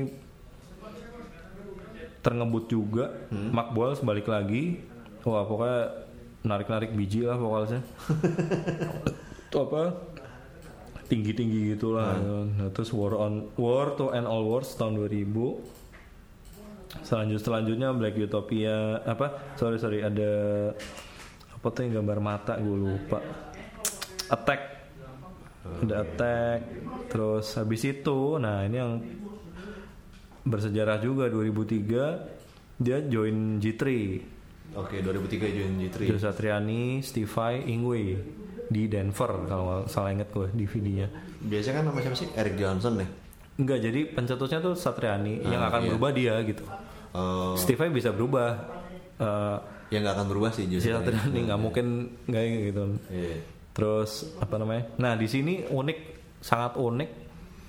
Speaker 2: terngebut juga. hmm. Mark Boals balik lagi. Wah pokoknya narik-narik biji lah vokalnya. Itu apa? Tinggi-tinggi gitulah. Hmm. Nah, terus War on War to End All Wars tahun dua ribu. Selanjut selanjutnya Black Utopia apa? Sorry sorry ada apa tuh yang gambar mata gue lupa. Attack. Ada Attack. Terus habis itu, nah ini yang bersejarah juga dua ribu tiga dia join G tiga.
Speaker 1: Oke, dua ribu tiga join G tiga.
Speaker 2: Joe Satriani, Steve Vai, Ingwe di Denver kalau salah inget gue D V D-nya.
Speaker 1: Biasanya kan nama siapa sih? Eric Johnson ya?
Speaker 2: Enggak, jadi pencetusnya tuh Satriani, ah, yang akan iya. berubah dia gitu. Oh. Steve Vai bisa berubah. Uh,
Speaker 1: yang nggak akan berubah sih Joe
Speaker 2: Satriani nggak nah, mungkin nggak gitu.
Speaker 1: Yeah.
Speaker 2: Terus apa namanya? Nah di sini unik, sangat unik.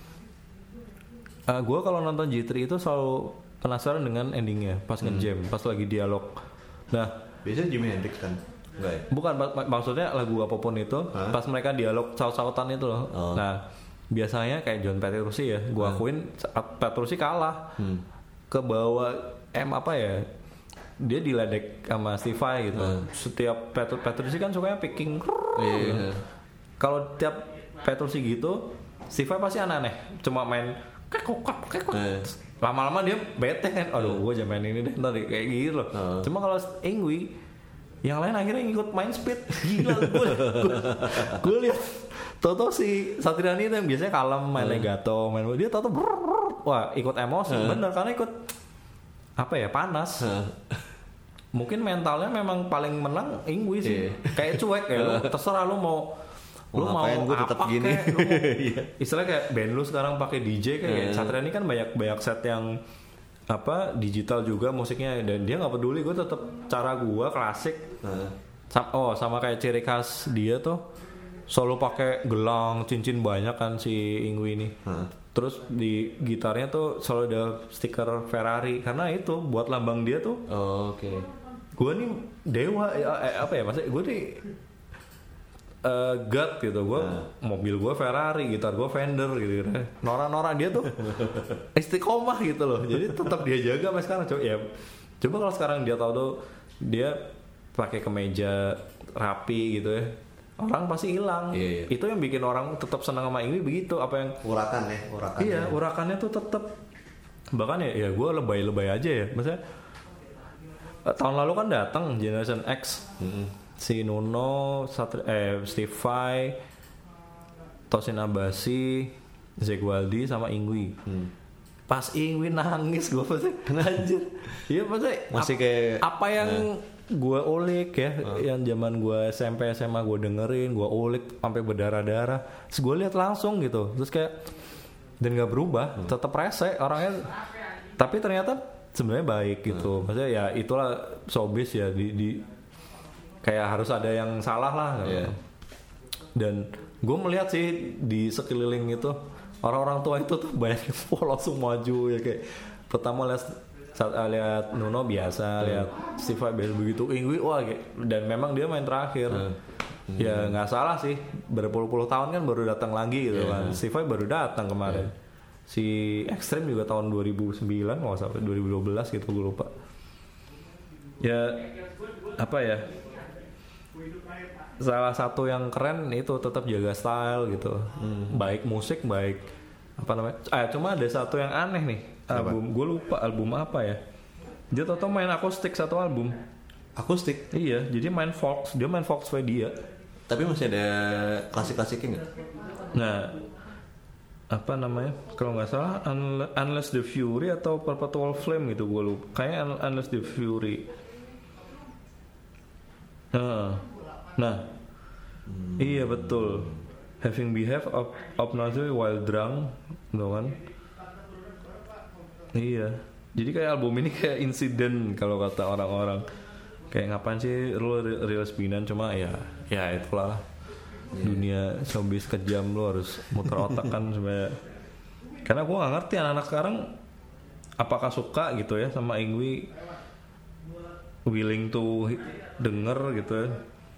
Speaker 2: Uh, gue kalau nonton G tiga itu selalu penasaran dengan endingnya pas hmm. nge-jam, pas lagi dialog. Nah,
Speaker 1: biasanya Jimi Hendrix kan? Enggak ya?
Speaker 2: Bukan, mak- maksudnya lagu apapun itu, huh? pas mereka dialog saut-sautan itu loh. Oh. Nah, biasanya kayak John Petrucci ya, gue akuin hmm. Petrucci kalah. Hmm. Ke bawah M apa ya? Dia diledek sama Steve Vai gitu. Hmm. Setiap Petru- Petrucci kan sukanya picking. Yeah. Kalau tiap Petrucci gitu, Steve Vai pasti aneh-aneh, cuma main kekok kekok. Eh. Lama-lama dia bete kan, aduh gue jangan main ini deh tadi kayak gitu loh. Uh. Cuma kalau Ingwe yang lain akhirnya ngikut main speed, gila gue. Gue lihat Toto si Satriani itu yang biasanya kalem main uh. legato, main dia Toto brrr, wah ikut emosi uh. bener karena ikut apa ya panas. Uh. Mungkin mentalnya memang paling menang Ingwe sih, yeah. kayak cuek ya, lu, terserah lu mau lu mau gue tetap gini kayak, lu mau, istilahnya kayak band lu sekarang pakai D J kayak yeah. Satriani kan banyak banyak set yang apa digital juga musiknya dan dia nggak peduli, gue tetap cara gue klasik. uh. Sam- oh sama kayak ciri khas dia tuh selalu pakai gelang cincin banyak kan si Ingwe ini. uh. Terus di gitarnya tuh selalu ada stiker Ferrari karena itu buat lambang dia tuh.
Speaker 1: Oh, oke. Okay.
Speaker 2: Gue nih dewa eh, apa ya maksudnya gue nih Uh, God gitu, gue nah. mobil gue Ferrari, gitar gue Fender gitu, Nora-nora dia tuh istiqomah gitu loh, jadi tetap dia jaga sampai sekarang. Coba ya, coba kalau sekarang dia tahu tuh dia pakai kemeja rapi gitu ya, orang pasti hilang. Iya, iya. Itu yang bikin orang tetap senang sama ini begitu, apa yang
Speaker 1: urakan ya, urakan.
Speaker 2: Iya, urakannya tuh tetap. Bahkan ya, ya gue lebay-lebay aja ya, maksudnya tahun lalu kan datang Generation X. Mm-hmm. Si Nuno, Satri, eh, Steve Vai, Tosin Abasi, Zack Wylde sama Ingwe. Hmm. Pas Ingwe nangis gue pasti anjir. Iya pasti
Speaker 1: masih
Speaker 2: ap,
Speaker 1: kayak
Speaker 2: apa yang eh. gue ulik ya, uh. yang zaman gue S M P S M A gue dengerin, gue ulik sampai berdarah-darah. Terus gue lihat langsung gitu, terus kayak dan nggak berubah, hmm. tetap rese orangnya. Tapi ternyata sebenarnya baik gitu. Hmm. Maksudnya ya itulah showbiz ya di, di kayak harus ada yang salah lah gitu. Yeah. Dan gue melihat sih di sekeliling itu orang-orang tua itu tuh banyak yang langsung maju ya, kayak pertama lihat saat lihat Nuno biasa, hmm. lihat Steve Vai biasa, begitu Ingwe wah kayak, dan memang dia main terakhir. Hmm. Hmm. Ya nggak salah sih, berpuluh-puluh tahun kan baru datang lagi gitu yeah. kan. Steve Vai baru datang kemarin. Yeah. Si Extreme juga tahun dua ribu sembilan nggak sampai dua ribu dua belas gitu, gue lupa. Ya apa ya? Salah satu yang keren itu tetap jaga style gitu. Hmm. Baik musik, baik apa namanya? Ah, cuma ada satu yang aneh nih. Album, gue lupa album apa ya. Dia tau main akustik satu album.
Speaker 1: Akustik?
Speaker 2: Iya, jadi main folk. Dia main folk Swedia.
Speaker 1: Tapi masih ada klasik-klasiknya nggak?
Speaker 2: Nah, apa namanya? Kalau nggak salah, Unless the Fury atau Perpetual Flame gitu, gue lupa. Kayaknya Unless the Fury. Nah, nah hmm. iya betul. Having behave of obnoxiously while drunk, gitu kan? Iya. Jadi kayak album ini kayak insiden kalau kata orang-orang. Kayak ngapain sih lu rilis binan, cuma ya, ya itulah yeah. Dunia showbiz kejam, lu harus muter otak kan supaya. Karena gue nggak ngerti anak-anak sekarang apakah suka gitu ya sama Ingwi, willing to denger gitu ya.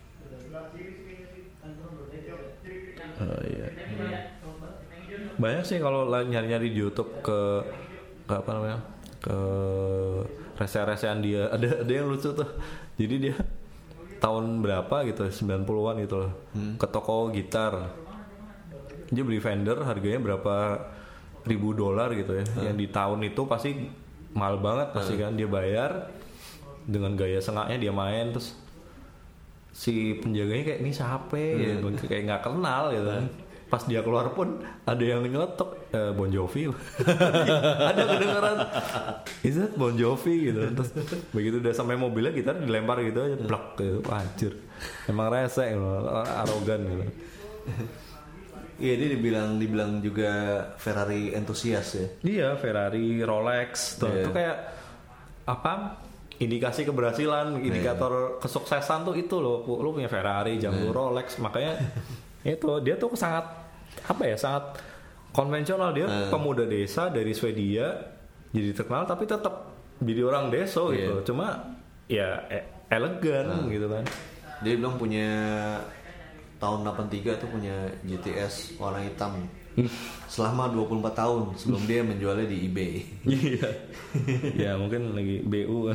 Speaker 2: Oh, iya. Banyak sih kalau nyari-nyari di YouTube ke, ke apa namanya ke rese-resean dia, ada ada yang lucu tuh. Jadi dia tahun berapa gitu, sembilan puluhan gitu loh, hmm. ke toko gitar, dia beli Fender harganya berapa ribu dolar gitu ya, hmm. yang di tahun itu pasti mahal banget pasti hmm. kan, dia bayar dengan gaya sengaknya dia main, terus si penjaganya kayak ini siapa hmm. ya, kayak nggak kenal gitu kan. Pas dia keluar pun ada yang nyelotok eh, Bon Jovi. Ada kedengeran is that Bon Jovi gitu. Terus begitu udah sampai mobilnya gitar dilempar gitu aja, blak gitu. Anjir. Emang rese gitu, arogan gitu.
Speaker 1: Iya, dia dibilang dibilang juga Ferrari entusias ya.
Speaker 2: Iya, Ferrari, Rolex tuh. Yeah. Itu kayak apa? Indikasi keberhasilan, indikator yeah. kesuksesan tuh itu loh. Lu punya Ferrari, jam yeah. Rolex, makanya itu dia tuh sangat apa ya, sangat konvensional. Dia uh. pemuda desa dari Swedia jadi terkenal tapi tetap jadi orang deso yeah. gitu, cuma ya e- elegan uh. gitu kan.
Speaker 1: Dia bilang punya tahun delapan tiga tuh punya G T S warna hitam selama dua puluh empat tahun sebelum dia menjualnya di eBay.
Speaker 2: Iya. Ya mungkin lagi B U.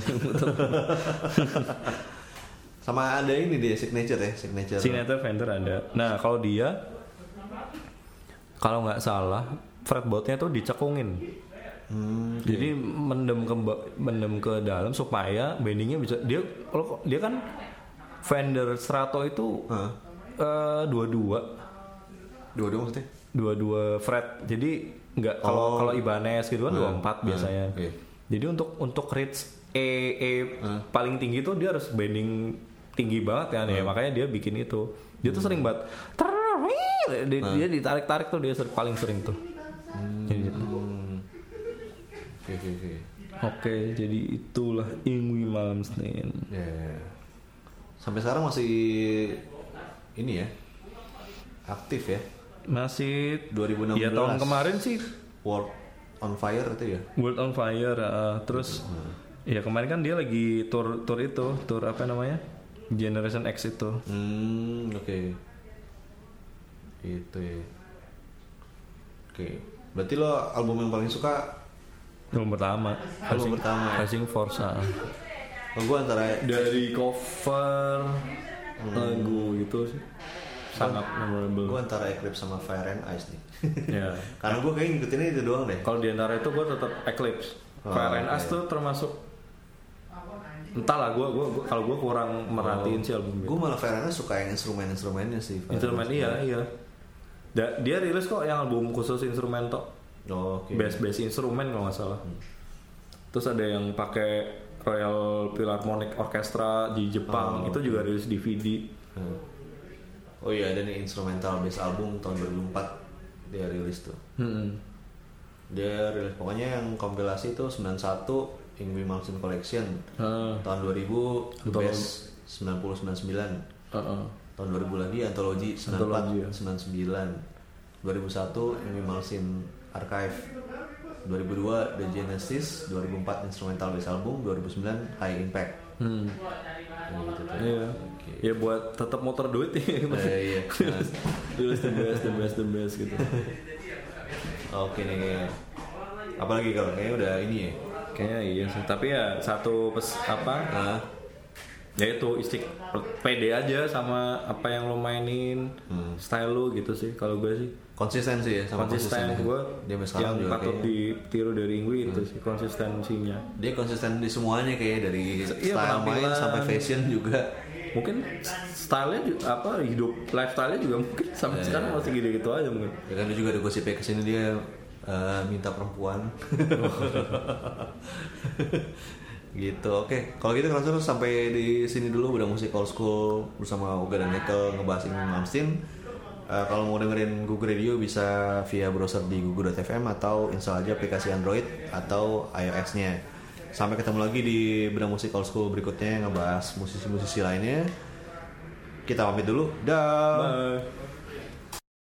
Speaker 1: Sama ada ini dia signature ya, signature.
Speaker 2: Signature Fender ada. Nah kalau dia, kalau nggak salah, fretboardnya tuh dicekungin. Hmm, okay. Jadi mendem ke mendem ke dalam supaya bendingnya bisa. Dia kalau dia kan Fender Strato itu huh? uh, dua-dua.
Speaker 1: Dua-dua maksudnya?
Speaker 2: Dua-dua fret. Jadi nggak kalau oh. kalau Ibanez gitu kan uh, dua puluh empat uh, biasanya. Okay. Jadi untuk untuk reach E E uh. paling tinggi tuh dia harus bending tinggi banget kan, hmm. ya makanya dia bikin itu. Dia tuh sering banget dia, hmm. dia ditarik-tarik tuh, dia sering, paling sering tuh. Hmm. Gitu. Oke oke oke. Oke, jadi itulah Yngwie Malmsteen.
Speaker 1: Yeah. Sampai sekarang masih ini ya, aktif ya.
Speaker 2: Masih
Speaker 1: dua ribu enam belas.
Speaker 2: Ya tahun kemarin sih
Speaker 1: World on Fire itu ya.
Speaker 2: World on Fire. Uh, terus hmm. ya kemarin kan dia lagi tour tour itu, tour apa namanya? Generation X itu.
Speaker 1: Hmm, oke. Okay. Itu ya. Oke. Okay. Berarti lo album yang paling suka
Speaker 2: album pertama.
Speaker 1: Album
Speaker 2: Racing,
Speaker 1: pertama.
Speaker 2: Racing Force. Ah.
Speaker 1: Oh, gue antara
Speaker 2: dari cover hmm. lagu gitu sih. Sangat memorable.
Speaker 1: Gue antara Eclipse sama Fire and Ice nih.
Speaker 2: Ya.
Speaker 1: Karena gue kayak ngikutinnya itu doang deh.
Speaker 2: Kalau di antara itu gue tetap Eclipse. Oh, Fire and Ice okay. tuh termasuk, entahlah, gue gue kalau gue kurang merhatiin oh, sih album
Speaker 1: gue malah Ferrana suka yang instrumen-instrumennya sih.
Speaker 2: Instrumen iya iya. Da, dia rilis kok yang album khusus instrumen tok.
Speaker 1: Oh, okay.
Speaker 2: Bass-bass instrumen kalau nggak salah. Hmm. Terus ada yang pakai Royal Philharmonic Orchestra di Jepang, oh, itu okay. juga rilis D V D.
Speaker 1: Hmm. Oh iya, ada nih instrumental bass album tahun dua ribu empat dia rilis tuh. Hmm. Dia rilis pokoknya yang kompilasi itu sembilan puluh satu Yngwie Malmsteen Collection hmm. tahun dua ribu The Best sembilan puluh sembilan puluh sembilan uh-uh. tahun dua ribu lagi Anthology sembilan puluh empat ya. sembilan puluh sembilan dua ribu satu Yngwie Malmsteen Archive dua ribu dua The Genesis dua ribu empat Instrumental Bass Album dua ribu sembilan High Impact hmm. gitu tuh.
Speaker 2: Iya. Okay. Ya buat tetap motor duit ya.
Speaker 1: Eh, iya.
Speaker 2: Tulis the best the best the best gitu.
Speaker 1: Oke nih kayaknya. Apalagi kalau kayaknya udah ini ya.
Speaker 2: Kayaknya iya sih, tapi ya satu pes apa? Nah, ya itu istik pede aja sama apa yang lo mainin, hmm. style lo gitu sih. Kalau gue sih
Speaker 1: konsisten sih ya, sama
Speaker 2: konsisten gue. Dia yang patut ditiru dari Yngwie hmm. itu sih konsistensinya.
Speaker 1: Dia konsisten di semuanya kayak dari iya, style main sampai fashion juga.
Speaker 2: Mungkin stylenya juga, apa hidup lifestyle-nya juga mungkin sampai yeah, sekarang yeah. masih gitu-gitu aja mungkin.
Speaker 1: Ya kan juga ada gosipnya kesini dia Uh, minta perempuan gitu. Oke, okay. Kalau gitu langsung sampai di sini dulu udah musik old school bersama Uga dan Nekel ngebahas Yngwie Malmsteen. Uh, kalau mau dengerin Google Radio bisa via browser di google dot f m atau install aja aplikasi Android atau iOS-nya. Sampai ketemu lagi di Bedah Musik Old School berikutnya ngebahas musisi-musisi lainnya. Kita pamit dulu. Dah.
Speaker 2: Bye.